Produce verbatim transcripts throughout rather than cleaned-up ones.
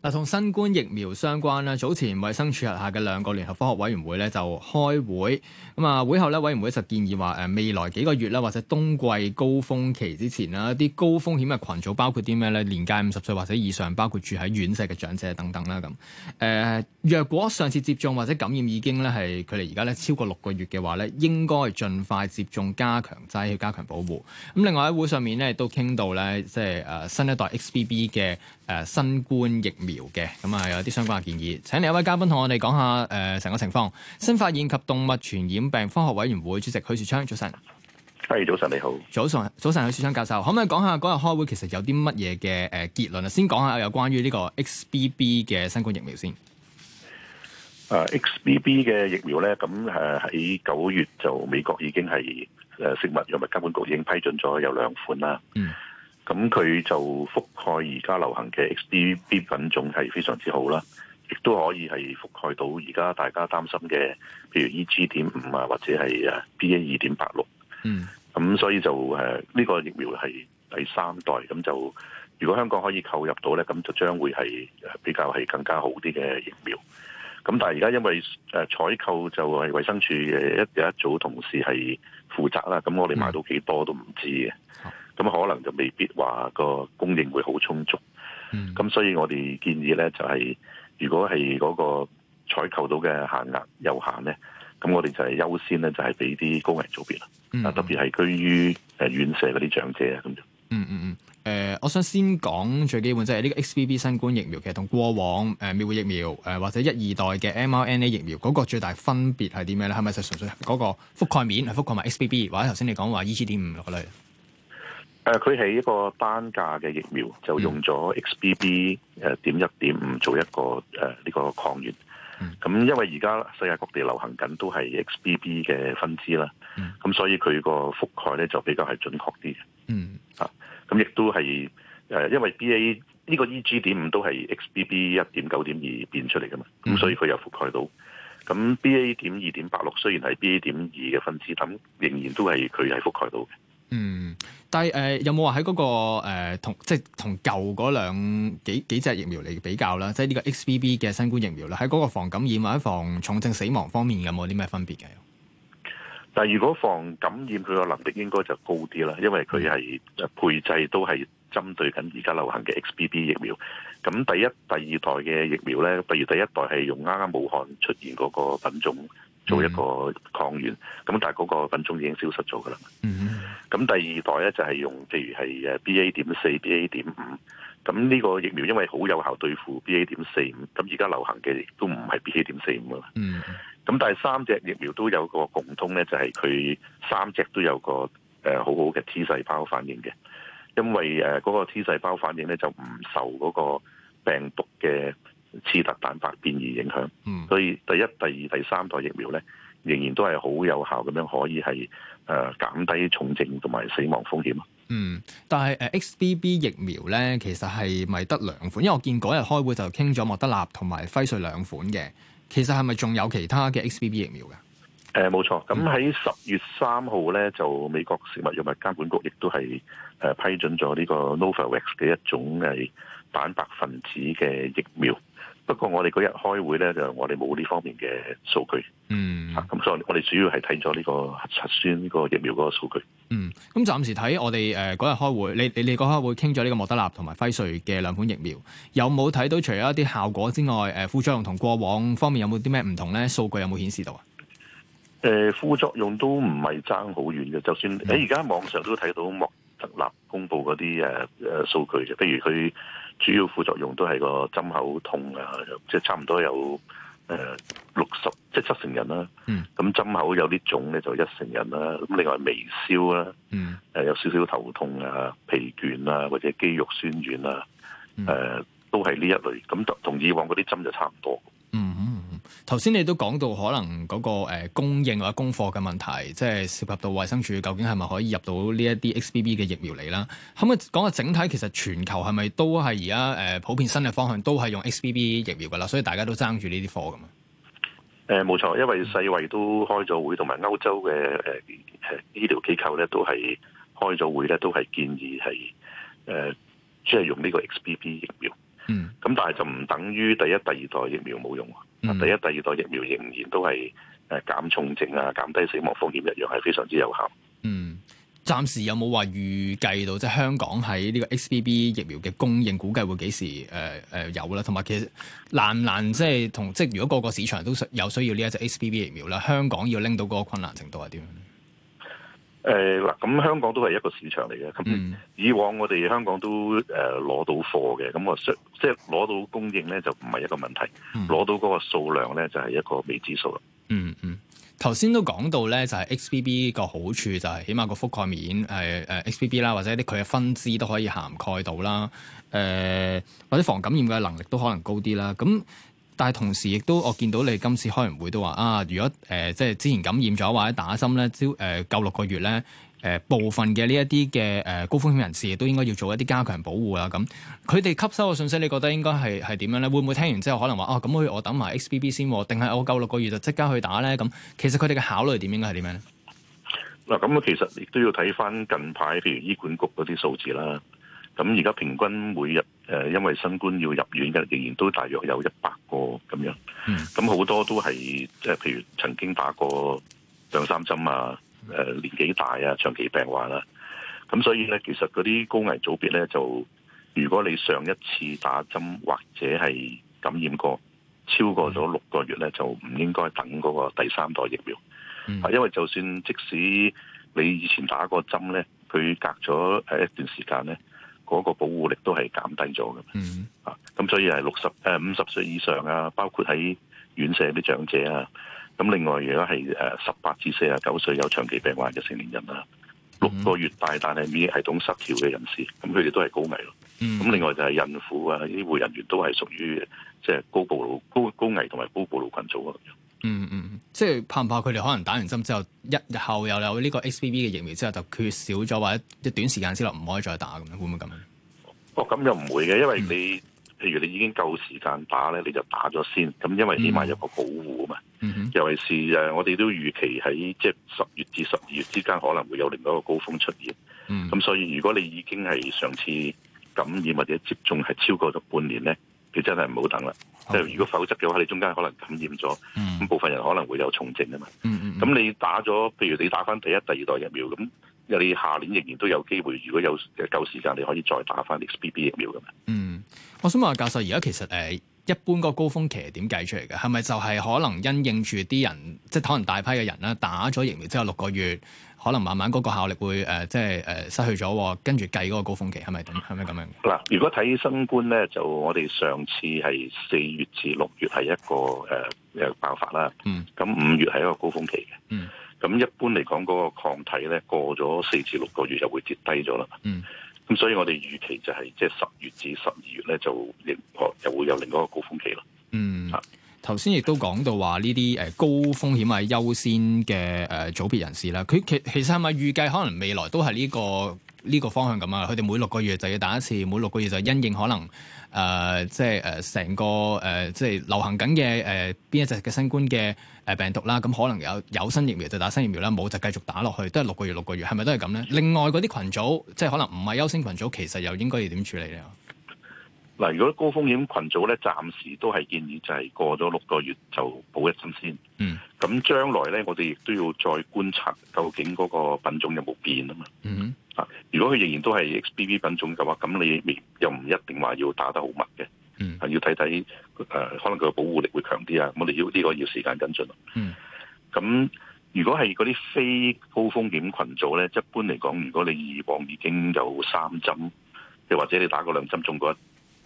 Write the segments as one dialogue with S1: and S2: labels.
S1: 嗱，同新冠疫苗相關啦，早前衛生署轄下嘅兩個聯合科學委員會咧就開會，咁啊會後咧委員會就建議話誒未來幾個月啦，或者冬季高峰期之前啦，一啲高風險嘅群組包括啲咩咧？年屆五十歲或者以上，包括住喺院舍嘅長者等等啦咁。誒、呃，若果上次接種或者感染已經咧係佢哋而家咧超過六個月嘅話咧，應該盡快接種加強劑去加強保護。咁另外喺會上面咧都傾到咧，即係誒新一代 X B B 嘅誒新冠疫苗嘅，咁啊有啲相關嘅建議。請嚟一位嘉賓同我哋講下誒成個情況。新發現及動物傳染病科學委員會主席許樹昌，早晨。
S2: 係，早晨你好。
S1: 早晨，早晨，許樹昌教授，可唔可以講下嗰日開會其實有啲乜嘢嘅誒結論啊？先講下有關於呢個 X B B 嘅新冠疫苗先。
S2: 誒 X B B 嘅疫苗咧，咁誒喺九月就美國已經係誒食物藥物監管局已經批准咗有兩款啦。嗯。咁佢就覆蓋而家流行嘅 X B B 品種係非常之好啦，亦都可以係覆蓋到而家大家擔心嘅，譬如 E G 點五啊，或者係誒 B A 二點八六。嗯。咁所以就誒呢個疫苗係第三代，咁就如果香港可以購入到咧，咁就將會係比較係更加好啲嘅疫苗。咁但係而家因為誒採購就係衛生署嘅一有一組同事係負責啦，咁我哋買到幾多都唔知嘅，咁可能就未必話個供應會好充足。咁、嗯、所以我哋建議咧就係、是，如果係嗰個採購到嘅限額有限咧，咁我哋就係優先咧就係俾啲高危組別啦，啊、嗯、特別係居於誒院舍嗰啲長者啊咁就。嗯
S1: 嗯嗯。誒、呃，我想先講最基本，即係呢個 X B B 新冠疫苗，其實同過往誒滅活疫苗誒、呃、或者一二代嘅 M R N A 疫苗嗰、那個最大分別係啲咩咧？係咪就純粹嗰個覆蓋面係覆蓋埋 X B B， 或者頭先你講話 E G 點五嗰類？誒、
S2: 呃，佢係一個單價嘅疫苗，就用咗 X B B 誒點一點五做一個誒呢、呃這個抗原。咁、嗯、因為而家世界各地流行緊都係 X B B 嘅分支啦，咁、嗯、所以佢個覆蓋咧就比較係準確啲嘅。嗯，啊。咁亦都係誒，因為 B A 呢個 E G 點五都係 X B B 一點九點二變出嚟噶嘛，咁、嗯、所以佢又覆蓋到。咁 B A 點二點八六雖然係 B A 點二嘅分支，咁仍然都係佢係覆蓋到嘅。嗯，
S1: 但係誒、呃、有冇話喺嗰個、呃、同即係同舊嗰兩幾幾隻疫苗嚟比較啦？即係呢個 X B B 嘅新冠疫苗啦，喺嗰個防感染或者防重症死亡方面有冇啲咩分別嘅？
S2: 但係如果防感染佢個能力應該就高啲啦，因為佢係配製都係針對緊而家流行嘅 X B B 疫苗。咁第一、第二代嘅疫苗咧，譬如第一代係用啱啱武漢出現嗰個品種做一個抗原，咁、嗯、但係嗰個品種已經消失咗噶啦。咁、嗯、第二代咧就係用譬如係誒 B A 點四、B A 點五。咁呢個疫苗因為好有效對付 B A 點四五，咁而家流行嘅亦都唔係 B A 點四五啦。嗯。咁但係三隻疫苗都有個共通咧，就係、是、佢三隻都有個誒、呃、好好嘅 T 細胞反應嘅，因為誒嗰、呃那個 T 細胞反應咧就唔受嗰個病毒嘅刺突蛋白變異影響，嗯、所以第一、第二、第三代疫苗咧仍然都係好有效咁樣可以係誒減低重症同埋死亡風險。
S1: 嗯，但係誒 X B B 疫苗咧，其實係咪得兩款？因為我見嗰日開會就傾咗莫德納同埋輝瑞兩款嘅。其實係咪仲有其他嘅 X B B 疫苗嘅？誒、
S2: 呃，冇錯。咁喺十月三號咧，就美國食物藥物監管局亦都係誒、呃、批准咗呢個 Novavax 嘅一種係蛋白分子嘅疫苗。不過我哋嗰日開會咧，就我哋冇呢方面嘅數據。嗯。咁、啊、所以我哋主要係睇咗呢個核酸呢個疫苗嗰個數據。
S1: 嗯。咁暫時睇我哋誒嗰日開會，你你你嗰開會傾咗呢個莫德納同埋輝瑞嘅兩款疫苗，有冇睇到除咗一啲效果之外，誒、呃、副作用同過往方面有冇啲咩唔同咧？數據有冇顯示到啊？
S2: 誒、呃，副作用都唔係爭好遠嘅，就算喺而家網上都睇到莫德納公布嗰啲誒誒數據嘅，譬如佢主要副作用都係個針口痛啊，即係差唔多有誒六十即係七成人啦。嗯。咁針口有啲腫咧就一成人啦。咁另外微燒啦。嗯。誒有少少頭痛啊、疲倦啊或者肌肉酸軟啊，誒、嗯呃、都係呢一類。咁同以往嗰啲針就差唔多。
S1: 嗯嗯。頭先你都講到可能嗰、那個、呃、供應或者供貨嘅問題，即係涉及到衛生署究竟係咪可以入到呢一啲 X B B 嘅疫苗嚟啦？可唔可以講下整體其實全球係咪都係而家誒普遍新嘅方向都係用 X B B 疫苗㗎啦？所以大家都爭住呢啲貨㗎嘛？
S2: 誒冇錯，因為世衛都開咗會，同埋歐洲嘅誒誒醫療機構咧都係開咗會咧，都係建議係誒即係用呢個 X B B 疫苗。 嗯。咁但係就唔等於第一、第二代疫苗冇用。嗯、第一、第二代疫苗仍然都係誒減重症啊、減低死亡風險一樣係非常之有效。
S1: 嗯。暫時有冇話預計到即係香港喺呢個 X B B 疫苗嘅供應，估計會幾時誒誒、呃呃、有啦？同埋其實難唔難即係同即係如果個個市場都有需要呢一隻 X B B 疫苗啦，香港要拎到嗰個困難程度係點樣？誒
S2: 嗱、呃，咁香港都係一個市場嚟嘅。咁、嗯、以往我哋香港都誒攞、呃、到貨嘅，咁我即係攞到供應咧就唔係一個問題，攞、嗯、到嗰個數量咧就係一個未知數啦。嗯嗯。
S1: 頭先都講到咧，就係 X B B 個好處就係起碼個覆蓋面誒誒 X B B 啦，或者啲佢嘅分支都可以涵蓋到啦，誒、呃、或者防感染嘅能力都可能高啲啦。咁但係同時亦都我見到你今次開完會都話啊，如果誒、呃、即係之前感染咗或者打針咧，朝誒夠六個月咧。誒、呃、部分嘅呢一啲嘅誒高風險人士亦都應該要做一啲加強保護啦。咁佢哋吸收嘅信息，你覺得應該係係點樣咧？會唔會聽完之後可能話啊咁我我等埋 X B B 先，定係我夠六個月就即刻去打咧？咁其實佢哋嘅考慮點應該係點樣咧？
S2: 嗱，咁其實亦都要睇翻近排譬如醫管局嗰啲數字啦。咁而家平均每日誒、呃、因為新冠要入院嘅仍然都大約有一百個咁樣。咁好、嗯、多都係即係譬如曾經打過兩三針啊。誒、呃、年紀大啊，長期病患啦，咁所以咧，其實嗰啲高危組別咧，就如果你上一次打針或者係感染過超過咗六個月咧，就唔應該等嗰個第三代疫苗。嗯、因為就算即使你以前打過針咧，佢隔咗誒一段時間咧，嗰、那個保護力都係減低咗嘅。嗯，啊，咁所以係六十誒五十歲以上啊，包括喺院舍啲長者啊。咁另外，如果係誒十八至四十九歲有長期病患嘅成年人啦，六個月大但係免疫系統失調嘅人士，咁佢哋都係高危咯。咁、嗯、另外就係孕婦啊、醫護人員都係屬於即係高暴露、高高危同埋高暴露群組啊。
S1: 嗯嗯，即係怕唔怕佢哋可能打完針之後，一日後又有呢個 X B B 嘅疫苗之後就缺少咗，或者一短時間之內唔可以再打咁樣，會唔會咁樣？
S2: 哦，咁又唔會嘅，因為你。嗯譬如你已經夠時間打咧，你就打咗先。咁因為起碼有個保護啊嘛。Mm hmm. 尤其是誒，我哋都預期喺即係十月至十二月之間可能會有另外一個高峰出現。咁、mm hmm. 所以如果你已經係上次感染或者接種係超過咗半年咧，你真係唔好等啦。即係 Okay. 如果否則嘅話，你中間可能感染咗，咁、mm hmm. 部分人可能會有重症啊嘛。咁、mm hmm. 你打咗，譬如你打翻第一、第二代疫苗咁。你下年仍然都有機會，如果有夠時間，你可以再打翻 X B B 疫苗㗎嘛？
S1: 嗯，我想問下教授，而家其實誒、呃、一般個高峰期係點計出嚟嘅？係咪就係可能因應住啲人，即係可能大批嘅人啦，打咗疫苗之後六個月，可能慢慢嗰個效力會誒、呃、即係誒、呃、失去咗，跟住計嗰個高峰期係咪咁？係咪咁樣？
S2: 嗱，如果睇新冠咧，就我哋上次係四月至六月係一個誒誒、呃、爆發啦。嗯。咁五月係一個高峰期嘅。嗯。咁一般嚟講，嗰、那個抗體咧過咗四至六個月就會跌低咗啦。嗯，咁所以我哋預期就係即係十月至十二月咧，就亦又會有另一個高峰期咯。嗯，
S1: 頭先亦都講到話呢啲誒高風險係優先嘅誒組別人士啦。佢其其實係咪預計可能未來都係呢、這個呢、這個方向咁啊？佢哋每六個月就要打一次，每六個月就因應可能誒、呃、即係誒成個誒、呃、即係流行緊嘅誒邊一隻嘅新冠嘅。誒病毒啦，咁可能有有新疫苗就打新疫苗啦，冇就繼續打落去，都係六個月六個月，係咪都係咁咧？另外嗰啲群組，即係可能唔係優先群組，其實又應該要點處理咧？
S2: 嗱，如果高風險群組咧，暫時都係建議就係過咗六個月就補一針先。嗯。咁將來咧，我哋亦都要再觀察究竟嗰個品種有冇變啊嘛。嗯。啊，如果佢仍然都係 X B B 品種嘅話，咁你又唔一定話要打得好密嘅。嗯，係要睇睇誒，可能佢嘅保護力會強啲啊！我哋要呢、這個要時間跟進咯。嗯，咁如果係嗰啲非高風險群組咧，一般嚟講，如果你以往已經有三針，又或者你打過兩針中過一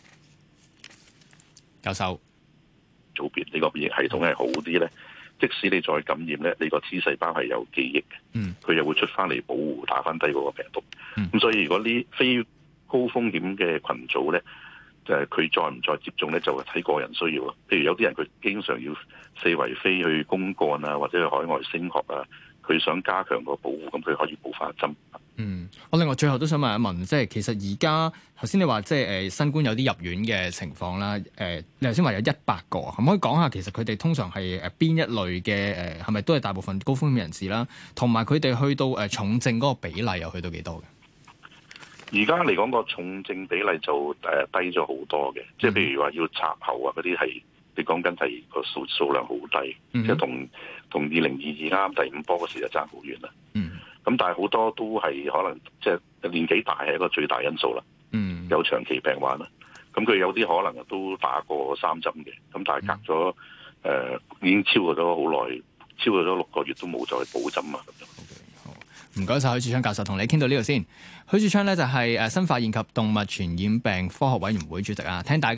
S1: 教授
S2: 組別，你個免疫系統係好啲咧，即使你再感染咧，你個 T 細胞係有記憶嘅。嗯，佢又會出翻嚟保護打翻低嗰個病毒。嗯，咁所以如果呢非高風險嘅群組咧，誒佢再唔再接種咧，就係睇個人需要咯。譬如有啲人佢經常要四圍飛去公幹啊，或者去海外升學啊，佢想加強個保護，咁佢可以補翻一針。
S1: 嗯，我另外最後都想問一問，即係其實而家頭先你話即係誒新冠有啲入院嘅情況啦，誒、呃、你頭先話有一百個，可唔可以講下其實佢哋通常係誒邊一類嘅誒係咪都係大部分高風險人士啦？同埋佢哋去到誒重症嗰個比例又去到幾多嘅？
S2: 而家嚟講個重症比例就誒低咗好多嘅，即係譬如話要插喉啊嗰啲係，你講緊係個數數量好低，嗯、即係同同二零二二啱啱第五波嗰時就爭好遠啦。嗯，咁但係好多都係可能即係年紀大係一個最大因素啦。嗯，有長期病患啦，咁佢有啲可能都打過三針嘅，咁但係隔咗誒、呃、已經超過咗好耐，超過咗六個月都冇再補針啊咁樣。
S1: 唔該晒許樹昌教授，同你傾到呢度先。許樹昌咧就係誒新發現及動物傳染病科學委員會主席啊，聽大家。